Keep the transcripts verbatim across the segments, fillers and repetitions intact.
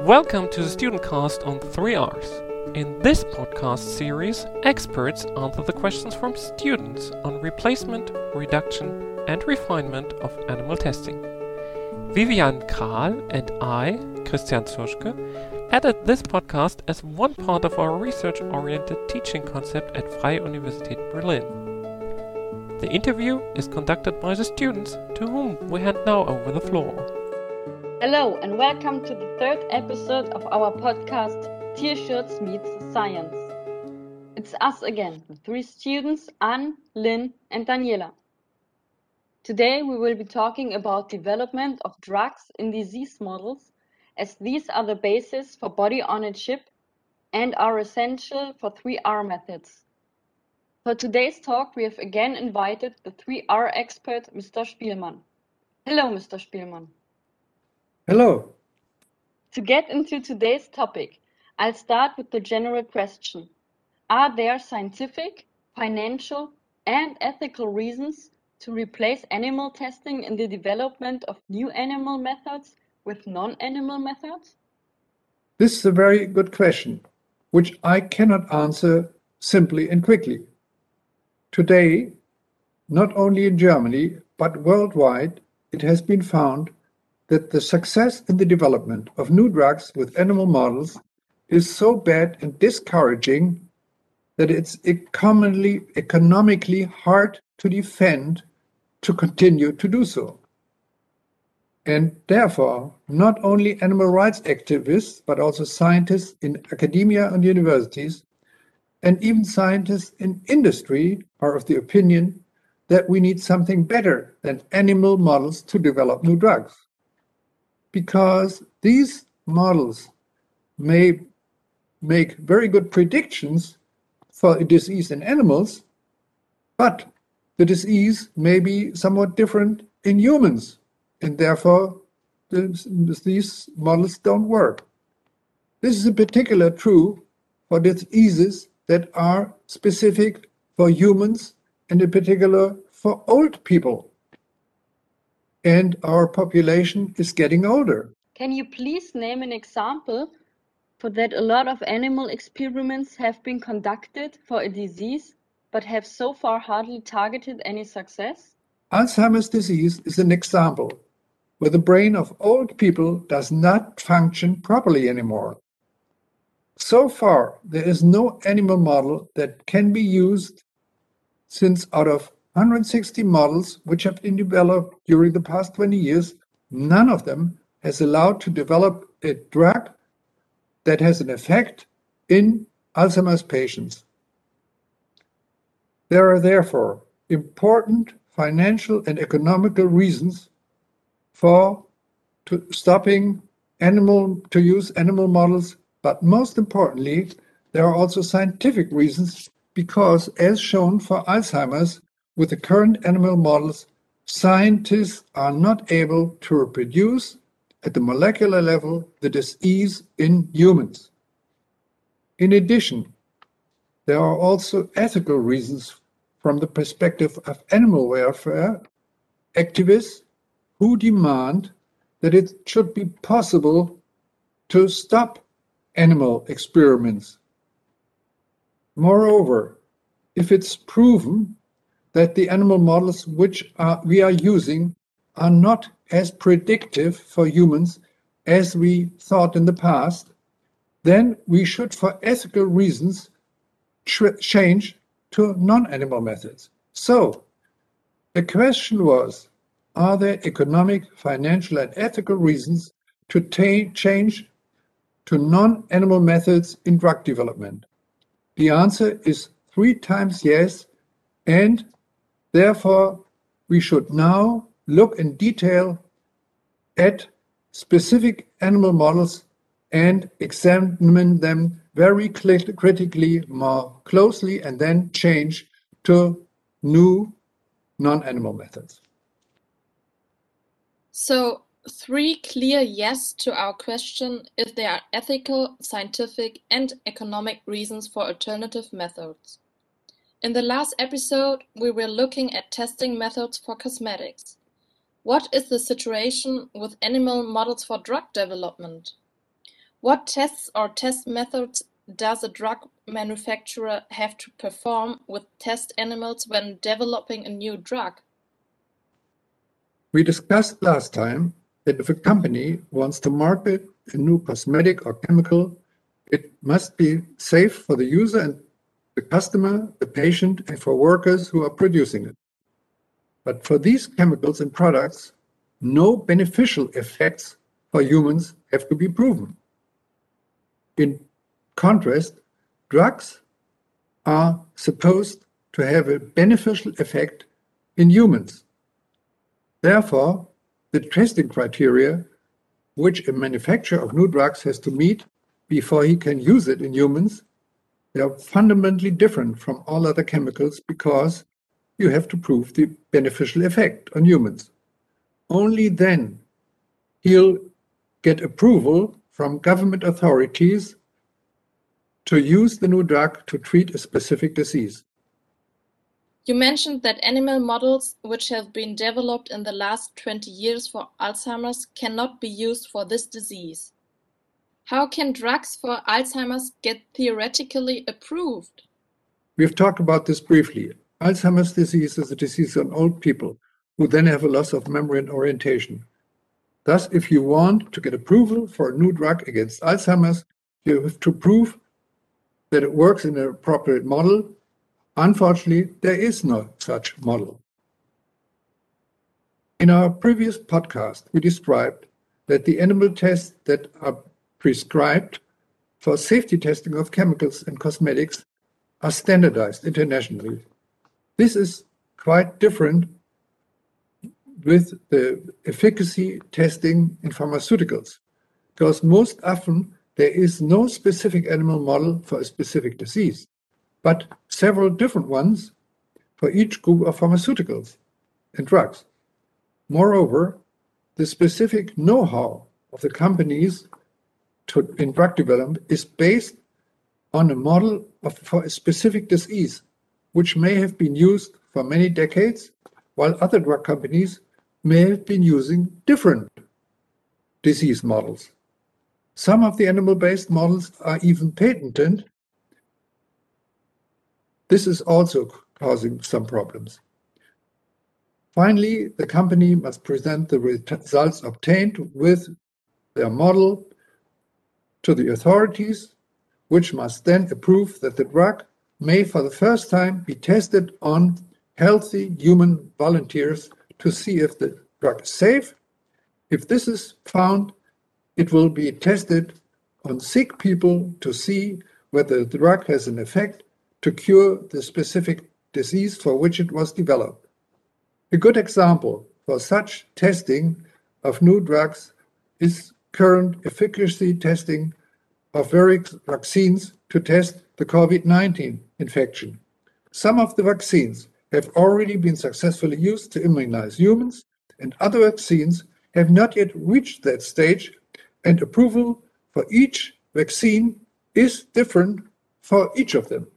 Welcome to the Student Cast on three R's. In this podcast series, experts answer the questions from students on replacement, reduction, and refinement of animal testing. Vivian Kral and I, Christian Zuschke, added this podcast as one part of our research-oriented teaching concept at Freie Universität Berlin. The interview is conducted by the students, to whom we hand now over the floor. Hello and welcome to the third episode of our podcast Tierschutz Meets Science. It's us again, the three students Anne, Lynn and Daniela. Today we will be talking about development of drugs in disease models, as these are the basis for body on a chip and are essential for three R methods. For today's talk we have again invited the three R expert Mister Spielmann. Hello Mister Spielmann. Hello. To get into today's topic, I'll start with the general question. Are there scientific, financial, and ethical reasons to replace animal testing in the development of new animal methods with non-animal methods? This is a very good question, which I cannot answer simply and quickly. Today, not only in Germany, but worldwide, it has been found that the success in the development of new drugs with animal models is so bad and discouraging that it's commonly economically hard to defend to continue to do so. And therefore, not only animal rights activists, but also scientists in academia and universities, and even scientists in industry are of the opinion that we need something better than animal models to develop new drugs. Because these models may make very good predictions for a disease in animals, but the disease may be somewhat different in humans, and therefore this, these models don't work. This is in particular true for diseases that are specific for humans and in particular for old people. And our population is getting older. Can you please name an example for that a lot of animal experiments have been conducted for a disease but have so far hardly targeted any success? Alzheimer's disease is an example where the brain of old people does not function properly anymore. So far, there is no animal model that can be used, since out of one hundred sixty models which have been developed during the past twenty years, none of them has allowed to develop a drug that has an effect in Alzheimer's patients. There are therefore important financial and economical reasons for to stopping animal to use animal models, but most importantly, there are also scientific reasons, because as shown for Alzheimer's, with the current animal models, scientists are not able to reproduce at the molecular level the disease in humans. In addition, there are also ethical reasons from the perspective of animal welfare activists who demand that it should be possible to stop animal experiments. Moreover, if it's proven that the animal models which are, we are using are not as predictive for humans as we thought in the past, then we should, for ethical reasons, tr- change to non-animal methods. So, the question was, are there economic, financial, and ethical reasons to ta- change to non-animal methods in drug development? The answer is three times yes, and therefore, we should now look in detail at specific animal models and examine them very cl- critically, more closely, and then change to new non-animal methods. So, three clear yes to our question if there are ethical, scientific, and economic reasons for alternative methods. In the last episode, we were looking at testing methods for cosmetics. What is the situation with animal models for drug development? What tests or test methods does a drug manufacturer have to perform with test animals when developing a new drug? We discussed last time that if a company wants to market a new cosmetic or chemical, it must be safe for the user and the customer, the patient, and for workers who are producing it. But for these chemicals and products, no beneficial effects for humans have to be proven. In contrast, drugs are supposed to have a beneficial effect in humans. Therefore, the testing criteria which a manufacturer of new drugs has to meet before he can use it in humans, they are fundamentally different from all other chemicals because you have to prove the beneficial effect on humans. Only then he'll get approval from government authorities to use the new drug to treat a specific disease. You mentioned that animal models which have been developed in the last twenty years for Alzheimer's cannot be used for this disease. How can drugs for Alzheimer's get theoretically approved? We've talked about this briefly. Alzheimer's disease is a disease on old people who then have a loss of memory and orientation. Thus, if you want to get approval for a new drug against Alzheimer's, you have to prove that it works in an appropriate model. Unfortunately, there is no such model. In our previous podcast, we described that the animal tests that are prescribed for safety testing of chemicals and cosmetics are standardized internationally. This is quite different with the efficacy testing in pharmaceuticals, because most often there is no specific animal model for a specific disease, but several different ones for each group of pharmaceuticals and drugs. Moreover, the specific know-how of the companies to, in drug development is based on a model of, for a specific disease, which may have been used for many decades, while other drug companies may have been using different disease models. Some of the animal-based models are even patented. This is also causing some problems. Finally, the company must present the results obtained with their model to the authorities, which must then approve that the drug may for the first time be tested on healthy human volunteers to see if the drug is safe. If this is found, it will be tested on sick people to see whether the drug has an effect to cure the specific disease for which it was developed. A good example for such testing of new drugs is current efficacy testing of various vaccines to test the COVID nineteen infection. Some of the vaccines have already been successfully used to immunize humans, and other vaccines have not yet reached that stage, and approval for each vaccine is different for each of them.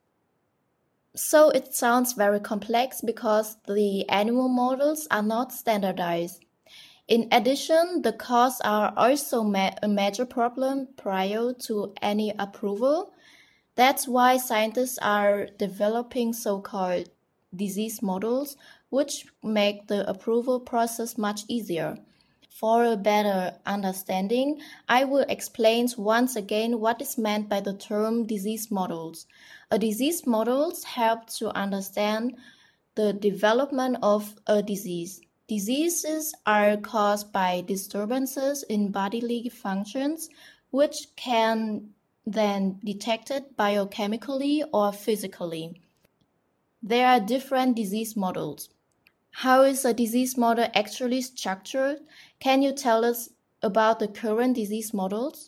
So it sounds very complex because the animal models are not standardized. In addition, the costs are also ma- a major problem prior to any approval. That's why scientists are developing so-called disease models, which make the approval process much easier. For a better understanding, I will explain once again what is meant by the term disease models. A disease models help to understand the development of a disease. Diseases are caused by disturbances in bodily functions, which can then be detected biochemically or physically. There are different disease models. How is a disease model actually structured? Can you tell us about the current disease models?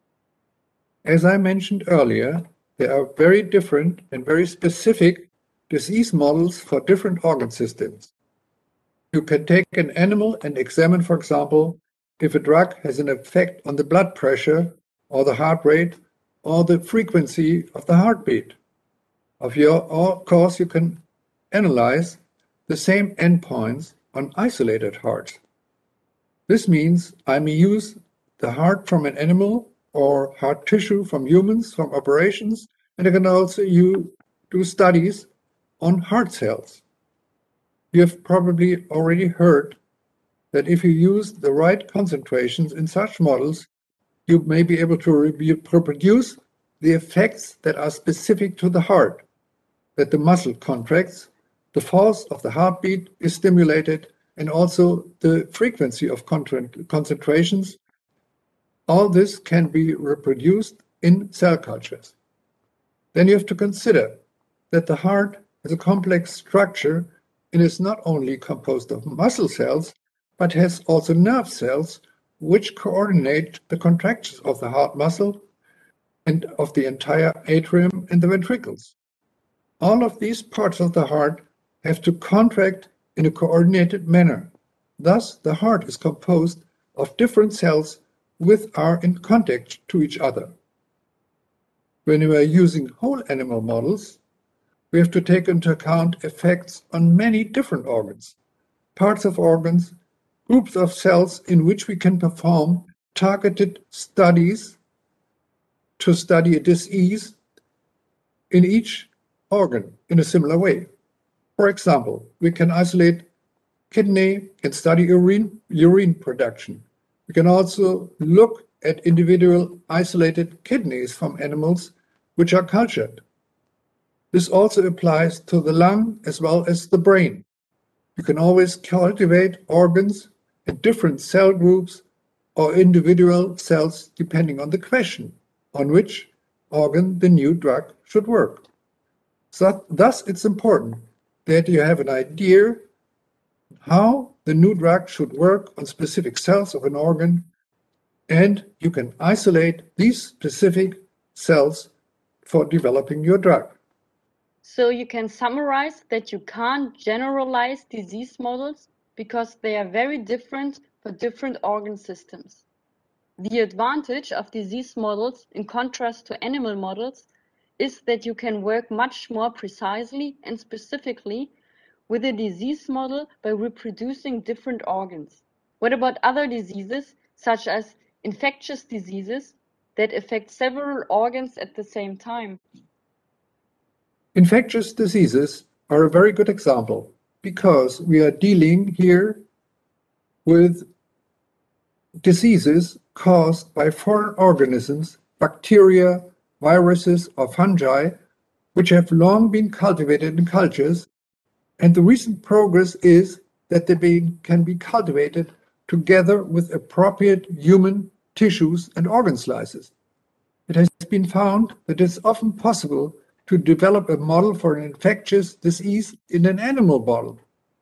As I mentioned earlier, there are very different and very specific disease models for different organ systems. You can take an animal and examine, for example, if a drug has an effect on the blood pressure or the heart rate or the frequency of the heartbeat. Of your of course, you can analyze the same endpoints on isolated hearts. This means I may use the heart from an animal or heart tissue from humans, from operations, and I can also you do studies on heart cells. You have probably already heard that if you use the right concentrations in such models, you may be able to reproduce the effects that are specific to the heart, that the muscle contracts, the force of the heartbeat is stimulated, and also the frequency of concentrations. All this can be reproduced in cell cultures. Then you have to consider that the heart is a complex structure and is not only composed of muscle cells, but has also nerve cells which coordinate the contractions of the heart muscle and of the entire atrium and the ventricles. All of these parts of the heart have to contract in a coordinated manner. Thus, the heart is composed of different cells which are in contact to each other. When we are using whole animal models, we have to take into account effects on many different organs, parts of organs, groups of cells in which we can perform targeted studies to study a disease in each organ in a similar way. For example, we can isolate kidney and study urine, urine production. We can also look at individual isolated kidneys from animals which are cultured. This also applies to the lung as well as the brain. You can always cultivate organs and different cell groups or individual cells depending on the question on which organ the new drug should work. So, thus, it's important that you have an idea how the new drug should work on specific cells of an organ, and you can isolate these specific cells for developing your drug. So you can summarize that you can't generalize disease models because they are very different for different organ systems. The advantage of disease models, in contrast to animal models, is that you can work much more precisely and specifically with a disease model by reproducing different organs. What about other diseases, such as infectious diseases that affect several organs at the same time? Infectious diseases are a very good example because we are dealing here with diseases caused by foreign organisms, bacteria, viruses, or fungi, which have long been cultivated in cultures, and the recent progress is that they be, can be cultivated together with appropriate human tissues and organ slices. It has been found that it's often possible to develop a model for an infectious disease in an animal model.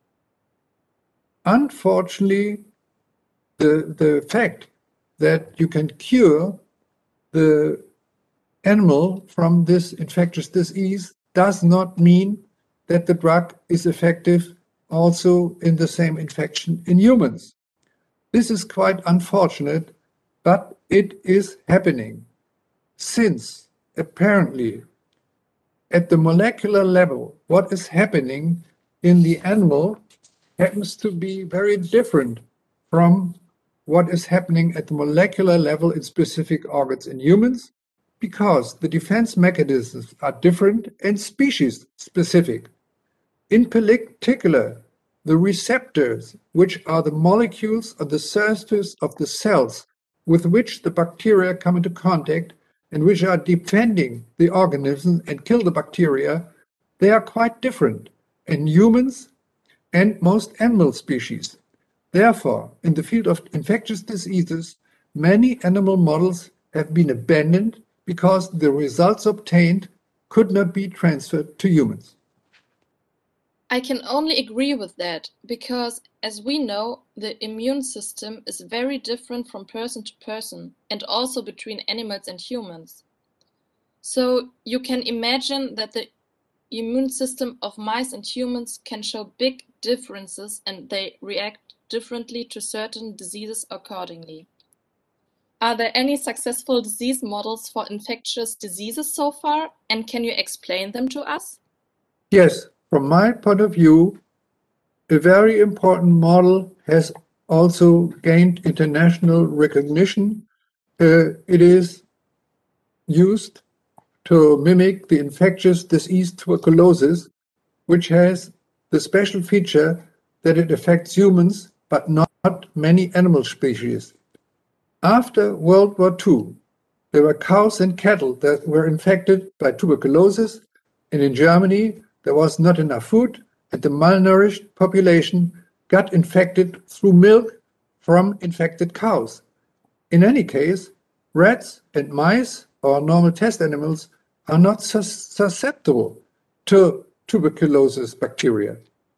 Unfortunately, the, the fact that you can cure the animal from this infectious disease does not mean that the drug is effective also in the same infection in humans. This is quite unfortunate, but it is happening, since apparently at the molecular level, what is happening in the animal happens to be very different from what is happening at the molecular level in specific organs in humans, because the defense mechanisms are different and species specific. In particular, the receptors, which are the molecules on the surface of the cells with which the bacteria come into contact and which are defending the organism and kill the bacteria, they are quite different in humans and most animal species. Therefore, in the field of infectious diseases, many animal models have been abandoned because the results obtained could not be transferred to humans. I can only agree with that, because as we know, the immune system is very different from person to person and also between animals and humans. So you can imagine that the immune system of mice and humans can show big differences and they react differently to certain diseases accordingly. Are there any successful disease models for infectious diseases so far, and can you explain them to us? Yes, from my point of view, a very important model has also gained international recognition. Uh, it is used to mimic the infectious disease tuberculosis, which has the special feature that it affects humans but not many animal species. After World War Two, there were cows and cattle that were infected by tuberculosis, and in Germany there was not enough food, and the malnourished population got infected through milk from infected cows. In any case, rats and mice, or normal test animals, are not sus susceptible to tuberculosis bacteria.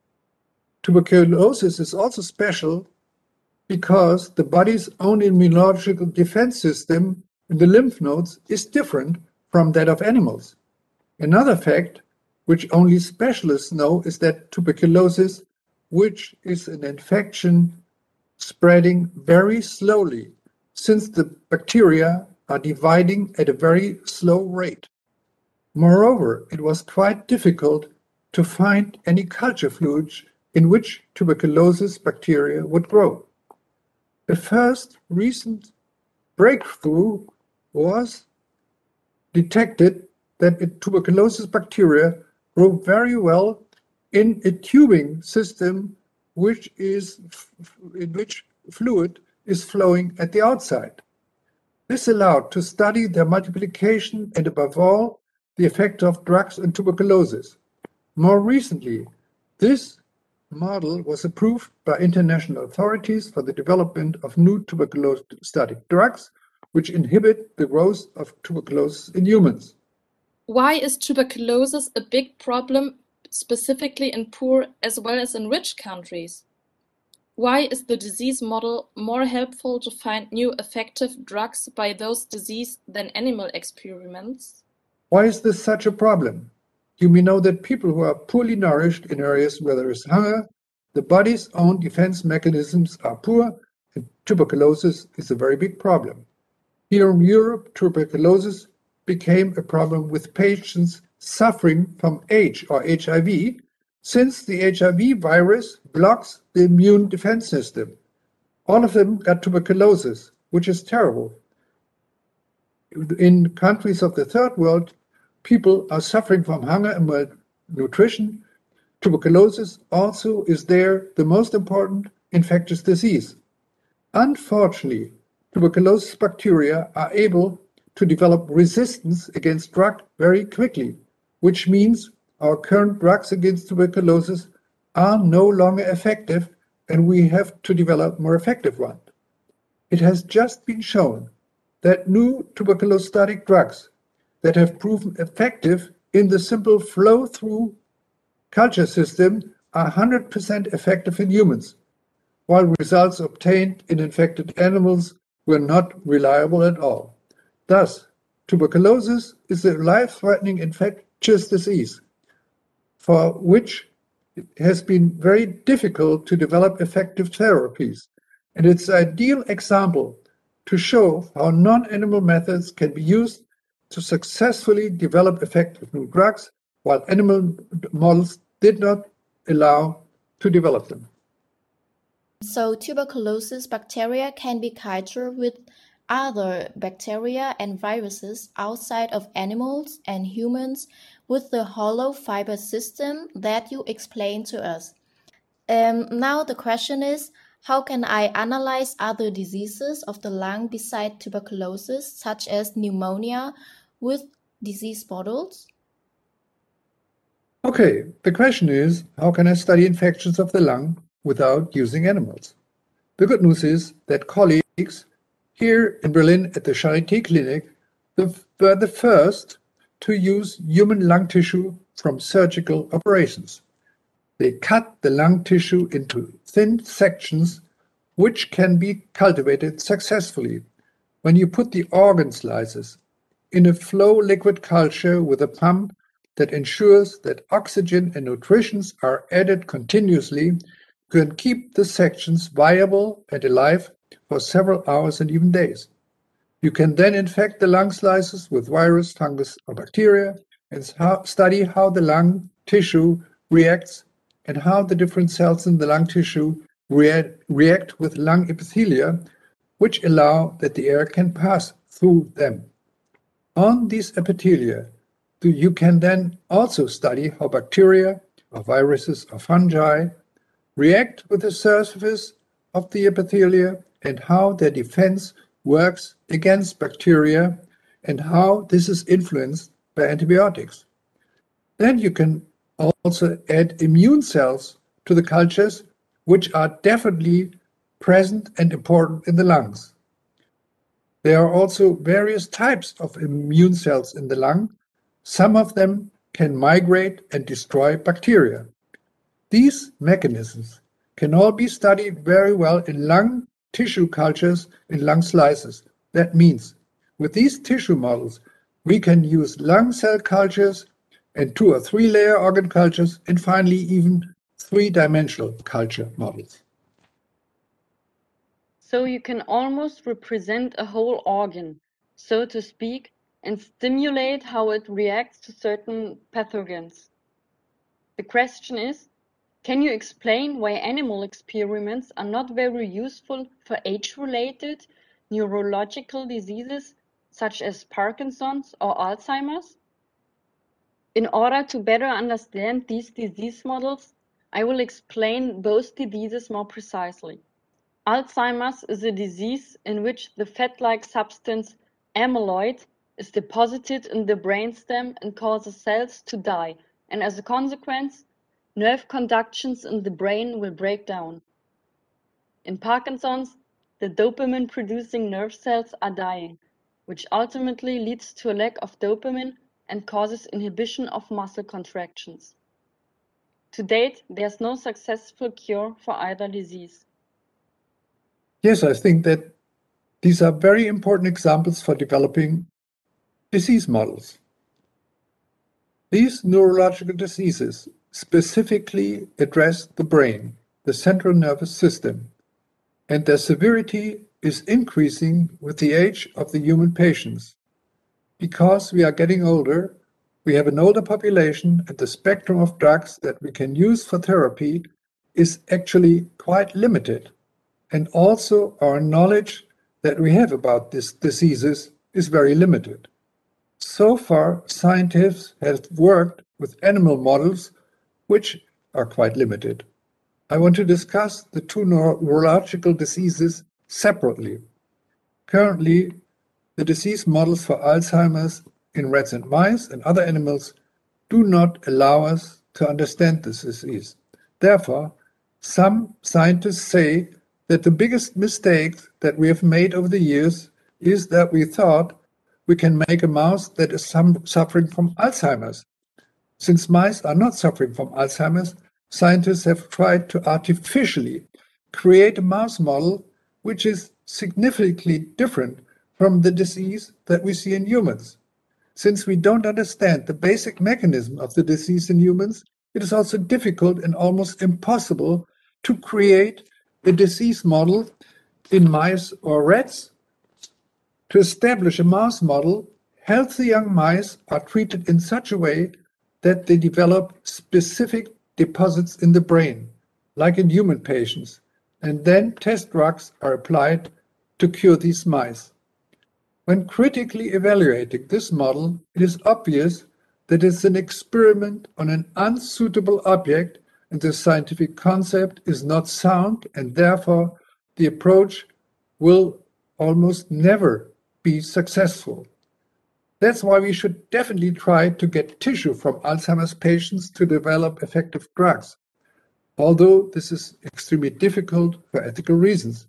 Tuberculosis is also special because the body's own immunological defense system in the lymph nodes is different from that of animals. Another fact, which only specialists know, is that tuberculosis, which is an infection spreading very slowly, since the bacteria are dividing at a very slow rate. Moreover, it was quite difficult to find any culture fluids in which tuberculosis bacteria would grow. The first recent breakthrough was detected that a tuberculosis bacteria grow very well in a tubing system which is in which fluid is flowing at the outside. This allowed to study their multiplication and above all the effect of drugs on tuberculosis. More recently, this model was approved by international authorities for the development of new tuberculosis-static drugs, which inhibit the growth of tuberculosis in humans. Why is tuberculosis a big problem, specifically in poor as well as in rich countries? Why is the disease model more helpful to find new effective drugs by those diseases than animal experiments? Why is this such a problem? You may know that people who are poorly nourished in areas where there is hunger, the body's own defense mechanisms are poor, and tuberculosis is a very big problem. Here in Europe, tuberculosis became a problem with patients suffering from AIDS or H I V, since the H I V virus blocks the immune defense system. All of them got tuberculosis, which is terrible. In countries of the third world, people are suffering from hunger and malnutrition. Tuberculosis also is there the most important infectious disease. Unfortunately, tuberculosis bacteria are able to develop resistance against drug very quickly, which means our current drugs against tuberculosis are no longer effective and we have to develop more effective ones. It has just been shown that new tuberculosis-static drugs that have proven effective in the simple flow-through culture system are one hundred percent effective in humans, while results obtained in infected animals were not reliable at all. Thus, tuberculosis is a life-threatening infectious disease for which it has been very difficult to develop effective therapies, and it's an ideal example to show how non-animal methods can be used to successfully develop effective new drugs, while animal models did not allow to develop them. So tuberculosis bacteria can be cultured with other bacteria and viruses outside of animals and humans with the hollow fiber system that you explained to us. Um, now the question is, how can I analyze other diseases of the lung beside tuberculosis, such as pneumonia, with disease models? Okay, the question is, how can I study infections of the lung without using animals? The good news is that colleagues here in Berlin at the Charité Clinic were the first to use human lung tissue from surgical operations. They cut the lung tissue into thin sections which can be cultivated successfully when you put the organ slices in a flow liquid culture with a pump that ensures that oxygen and nutrition are added continuously. You can keep the sections viable and alive for several hours and even days. You can then infect the lung slices with virus, fungus, or bacteria and study how the lung tissue reacts and how the different cells in the lung tissue rea- react with lung epithelia, which allow that the air can pass through them. On these epithelia, you can then also study how bacteria or viruses or fungi react with the surface of the epithelia and how their defense works against bacteria and how this is influenced by antibiotics. Then you can also add immune cells to the cultures, which are definitely present and important in the lungs. There are also various types of immune cells in the lung. Some of them can migrate and destroy bacteria. These mechanisms can all be studied very well in lung tissue cultures in lung slices. That means with these tissue models, we can use lung cell cultures and two or three layer organ cultures and finally even three-dimensional culture models. So you can almost represent a whole organ, so to speak, and stimulate how it reacts to certain pathogens. The question is, can you explain why animal experiments are not very useful for age-related neurological diseases such as Parkinson's or Alzheimer's? In order to better understand these disease models, I will explain both diseases more precisely. Alzheimer's is a disease in which the fat-like substance amyloid is deposited in the brainstem and causes cells to die, and as a consequence, nerve conductions in the brain will break down. In Parkinson's, the dopamine-producing nerve cells are dying, which ultimately leads to a lack of dopamine and causes inhibition of muscle contractions. To date, there's no successful cure for either disease. Yes, I think that these are very important examples for developing disease models. These neurological diseases specifically address the brain, the central nervous system, and their severity is increasing with the age of the human patients. Because we are getting older, we have an older population, and the spectrum of drugs that we can use for therapy is actually quite limited. And also our knowledge that we have about these diseases is very limited. So far, scientists have worked with animal models which are quite limited. I want to discuss the two neurological diseases separately. Currently, the disease models for Alzheimer's in rats and mice and other animals do not allow us to understand this disease. Therefore, some scientists say that the biggest mistake that we have made over the years is that we thought we can make a mouse that is suffering from Alzheimer's. Since mice are not suffering from Alzheimer's, scientists have tried to artificially create a mouse model which is significantly different from the disease that we see in humans. Since we don't understand the basic mechanism of the disease in humans, it is also difficult and almost impossible to create a disease model in mice or rats. To establish a mouse model, healthy young mice are treated in such a way that they develop specific deposits in the brain, like in human patients, and then test drugs are applied to cure these mice. When critically evaluating this model, it is obvious that it's an experiment on an unsuitable object and the scientific concept is not sound, and therefore the approach will almost never be successful. That's why we should definitely try to get tissue from Alzheimer's patients to develop effective drugs, although this is extremely difficult for ethical reasons.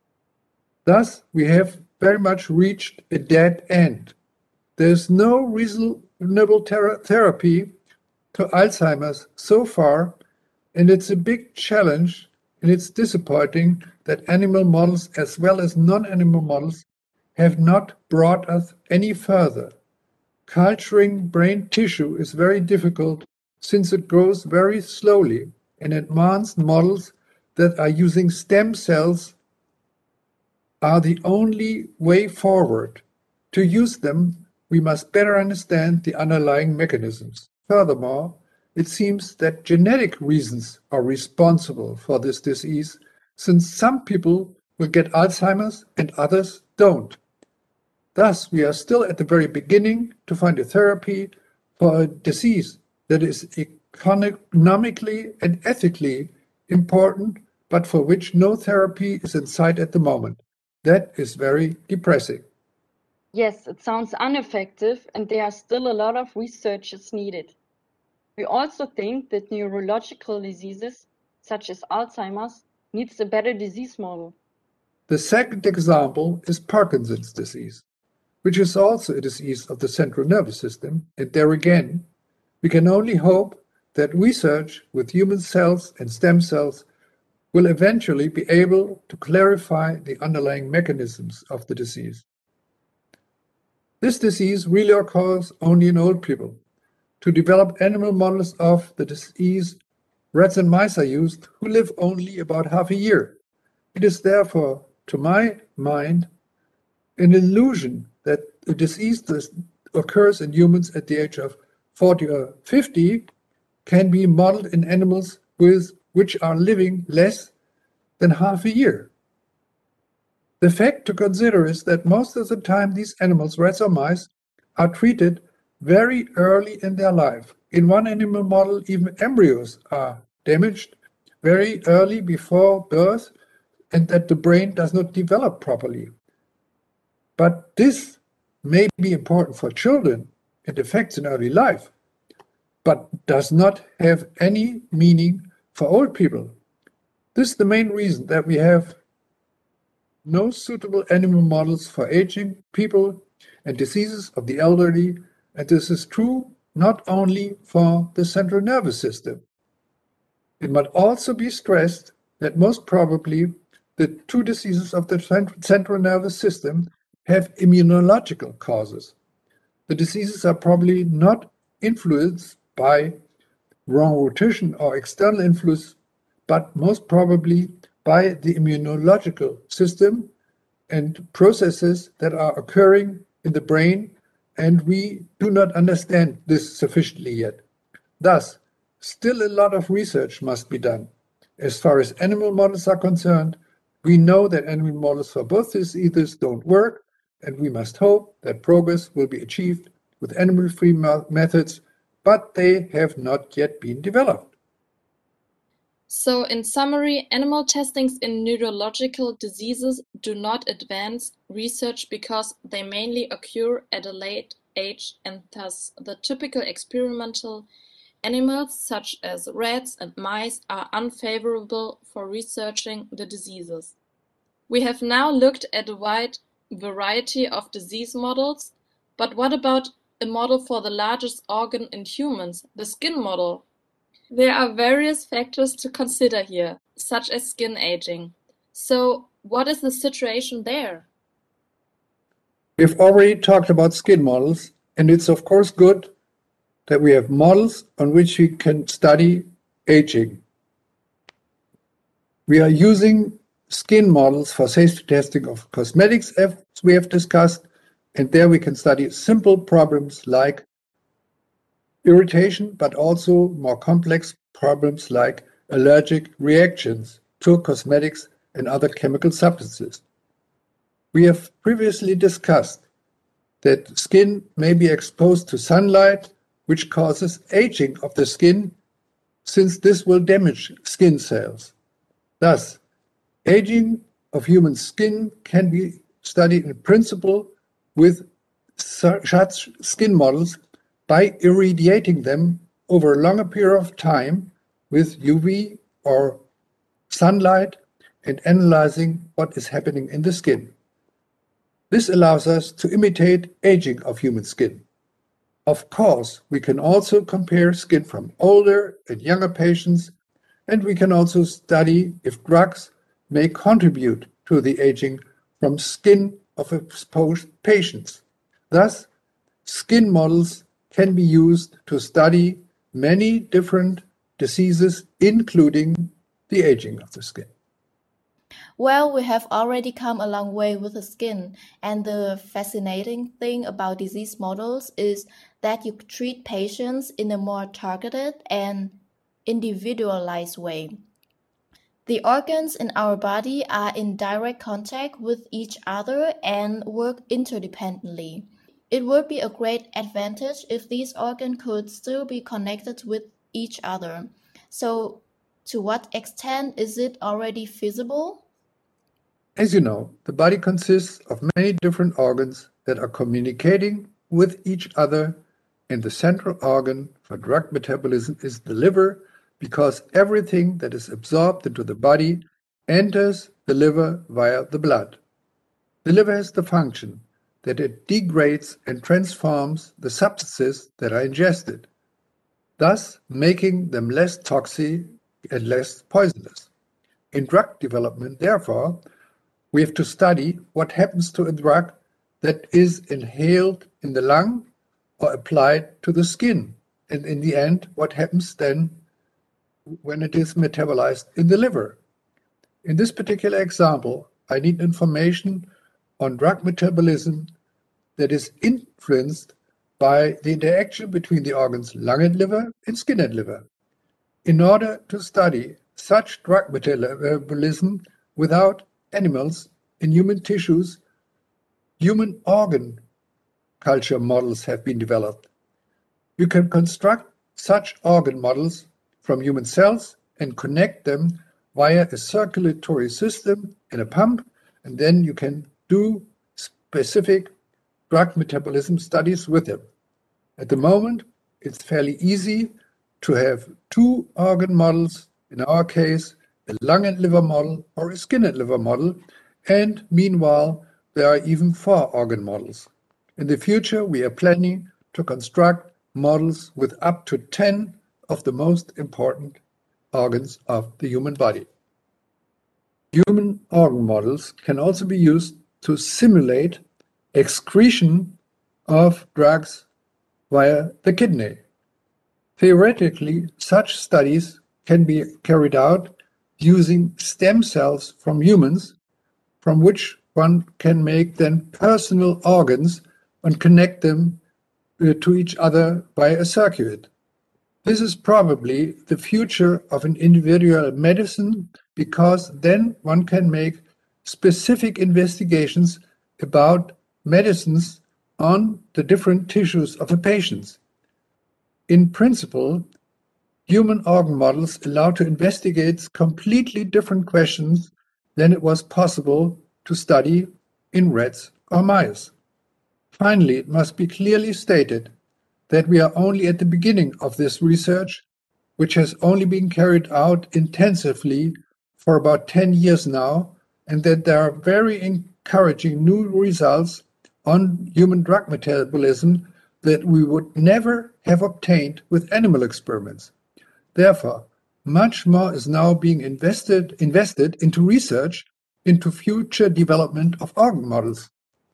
Thus, we have very much reached a dead end. There is no reasonable ter- therapy to Alzheimer's so far, and it's a big challenge, and it's disappointing that animal models as well as non-animal models have not brought us any further. Culturing brain tissue is very difficult since it grows very slowly, and advanced models that are using stem cells are the only way forward. To use them, we must better understand the underlying mechanisms. Furthermore, it seems that genetic reasons are responsible for this disease, since some people will get Alzheimer's and others don't. Thus, we are still at the very beginning to find a therapy for a disease that is economically and ethically important, but for which no therapy is in sight at the moment. That is very depressing. Yes, it sounds ineffective, and there are still a lot of researches needed. We also think that neurological diseases, such as Alzheimer's, needs a better disease model. The second example is Parkinson's disease, which is also a disease of the central nervous system, and there again, we can only hope that research with human cells and stem cells will eventually be able to clarify the underlying mechanisms of the disease. This disease really occurs only in old people. To develop animal models of the disease, rats and mice are used who live only about half a year. It is therefore, to my mind, an illusion that a disease that occurs in humans at the age of forty or fifty can be modeled in animals with which are living less than half a year. The fact to consider is that most of the time these animals, rats or mice, are treated very early in their life. In one animal model, even embryos are damaged very early before birth, and that the brain does not develop properly. But this may be important for children and affects in early life, but does not have any meaning for old people. This is the main reason that we have no suitable animal models for aging people and diseases of the elderly, and this is true not only for the central nervous system. It might also be stressed that most probably the two diseases of the central nervous system have immunological causes. The diseases are probably not influenced by wrong rotation or external influence, but most probably by the immunological system and processes that are occurring in the brain, and we do not understand this sufficiently yet. Thus, still a lot of research must be done. As far as animal models are concerned, we know that animal models for both diseases don't work, and we must hope that progress will be achieved with animal-free methods, but they have not yet been developed. So, in summary, animal testings in neurological diseases do not advance research because they mainly occur at a late age, and thus the typical experimental animals such as rats and mice are unfavorable for researching the diseases. We have now looked at a wide variety of disease models, but what about a model for the largest organ in humans, the skin model? There are various factors to consider here, such as skin aging. So, what is the situation there? We've already talked about skin models, and it's of course good that we have models on which we can study aging. We are using skin models for safety testing of cosmetics, as we have discussed, and there we can study simple problems like irritation, but also more complex problems like allergic reactions to cosmetics and other chemical substances. We have previously discussed that skin may be exposed to sunlight, which causes aging of the skin, since this will damage skin cells. Thus, aging of human skin can be studied in principle with such skin models by irradiating them over a longer period of time with U V or sunlight and analyzing what is happening in the skin. This allows us to imitate aging of human skin. Of course, we can also compare skin from older and younger patients, and we can also study if drugs may contribute to the aging from skin of exposed patients. Thus, skin models can be used to study many different diseases, including the aging of the skin. Well, we have already come a long way with the skin, and the fascinating thing about disease models is that you treat patients in a more targeted and individualized way. The organs in our body are in direct contact with each other and work interdependently. It would be a great advantage if these organs could still be connected with each other. So, to what extent is it already feasible? As you know, the body consists of many different organs that are communicating with each other, and the central organ for drug metabolism is the liver, because everything that is absorbed into the body enters the liver via the blood. The liver has the function that it degrades and transforms the substances that are ingested, thus making them less toxic and less poisonous. In drug development, therefore, we have to study what happens to a drug that is inhaled in the lung or applied to the skin, and in the end, what happens then when it is metabolized in the liver. In this particular example, I need information on drug metabolism that is influenced by the interaction between the organs lung and liver and skin and liver. In order to study such drug metabolism without animals in human tissues, human organ culture models have been developed. You can construct such organ models from human cells and connect them via a circulatory system in a pump, and then you can do specific drug metabolism studies with them. At the moment, it's fairly easy to have two organ models, in our case, a lung and liver model or a skin and liver model, and meanwhile, there are even four organ models. In the future, we are planning to construct models with up to ten of the most important organs of the human body. Human organ models can also be used to simulate excretion of drugs via the kidney. Theoretically, such studies can be carried out using stem cells from humans, from which one can make then personal organs and connect them uh, to each other by a circuit. This is probably the future of an individual medicine, because then one can make specific investigations about medicines on the different tissues of a patient. In principle, human organ models allow to investigate completely different questions than it was possible to study in rats or mice. Finally, it must be clearly stated that we are only at the beginning of this research, which has only been carried out intensively for about ten years now, and that there are very encouraging new results on human drug metabolism that we would never have obtained with animal experiments. Therefore, much more is now being invested, invested into research into future development of organ models.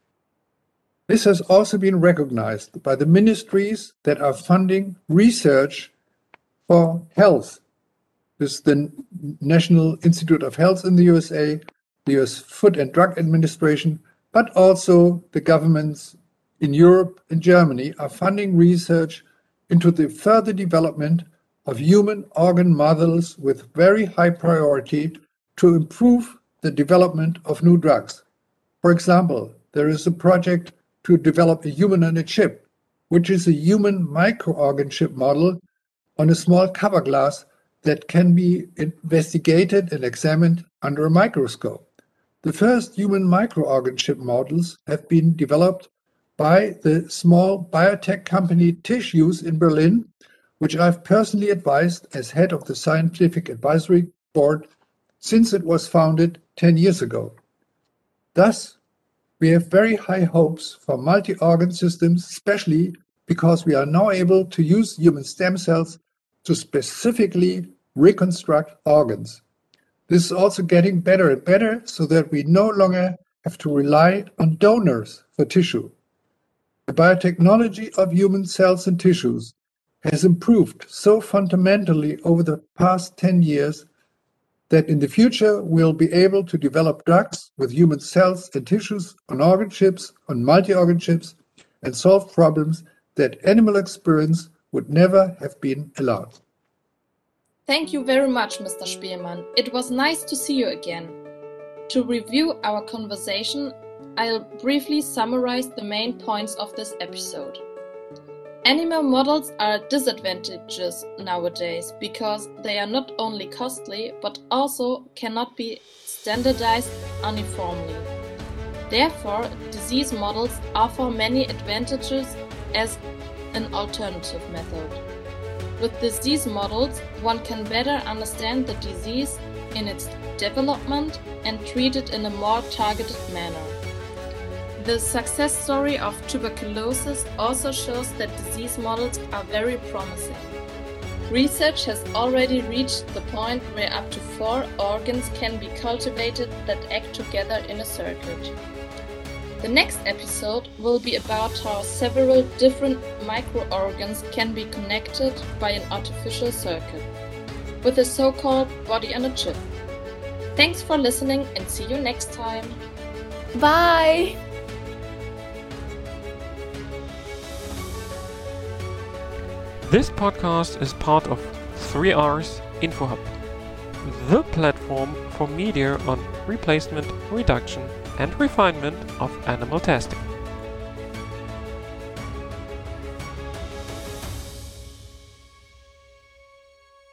This has also been recognized by the ministries that are funding research for health. This is the National Institute of Health in the U S A, the U S Food and Drug Administration, but also the governments in Europe and Germany are funding research into the further development of human organ models with very high priority to improve the development of new drugs. For example, there is a project to develop a human on a chip, which is a human microorgan chip model on a small cover glass that can be investigated and examined under a microscope. The first human microorgan chip models have been developed by the small biotech company Tissues in Berlin, which I've personally advised as head of the Scientific Advisory Board since it was founded ten years ago. Thus, we have very high hopes for multi-organ systems, especially because we are now able to use human stem cells to specifically reconstruct organs. This is also getting better and better so that we no longer have to rely on donors for tissue. The biotechnology of human cells and tissues has improved so fundamentally over the past ten years that in the future we'll be able to develop drugs with human cells and tissues on organ chips, on multi-organ chips, and solve problems that animal experience would never have been allowed. Thank you very much, Mister Spielmann. It was nice to see you again. To review our conversation, I'll briefly summarize the main points of this episode. Animal models are disadvantageous nowadays because they are not only costly but also cannot be standardized uniformly. Therefore, disease models offer many advantages as an alternative method. With disease models, one can better understand the disease in its development and treat it in a more targeted manner. The success story of tuberculosis also shows that disease models are very promising. Research has already reached the point where up to four organs can be cultivated that act together in a circuit. The next episode will be about how several different microorgans can be connected by an artificial circuit, with a so-called body on a chip. Thanks for listening and see you next time. Bye! This podcast is part of three R's InfoHub, the platform for media on replacement, reduction, and refinement of animal testing.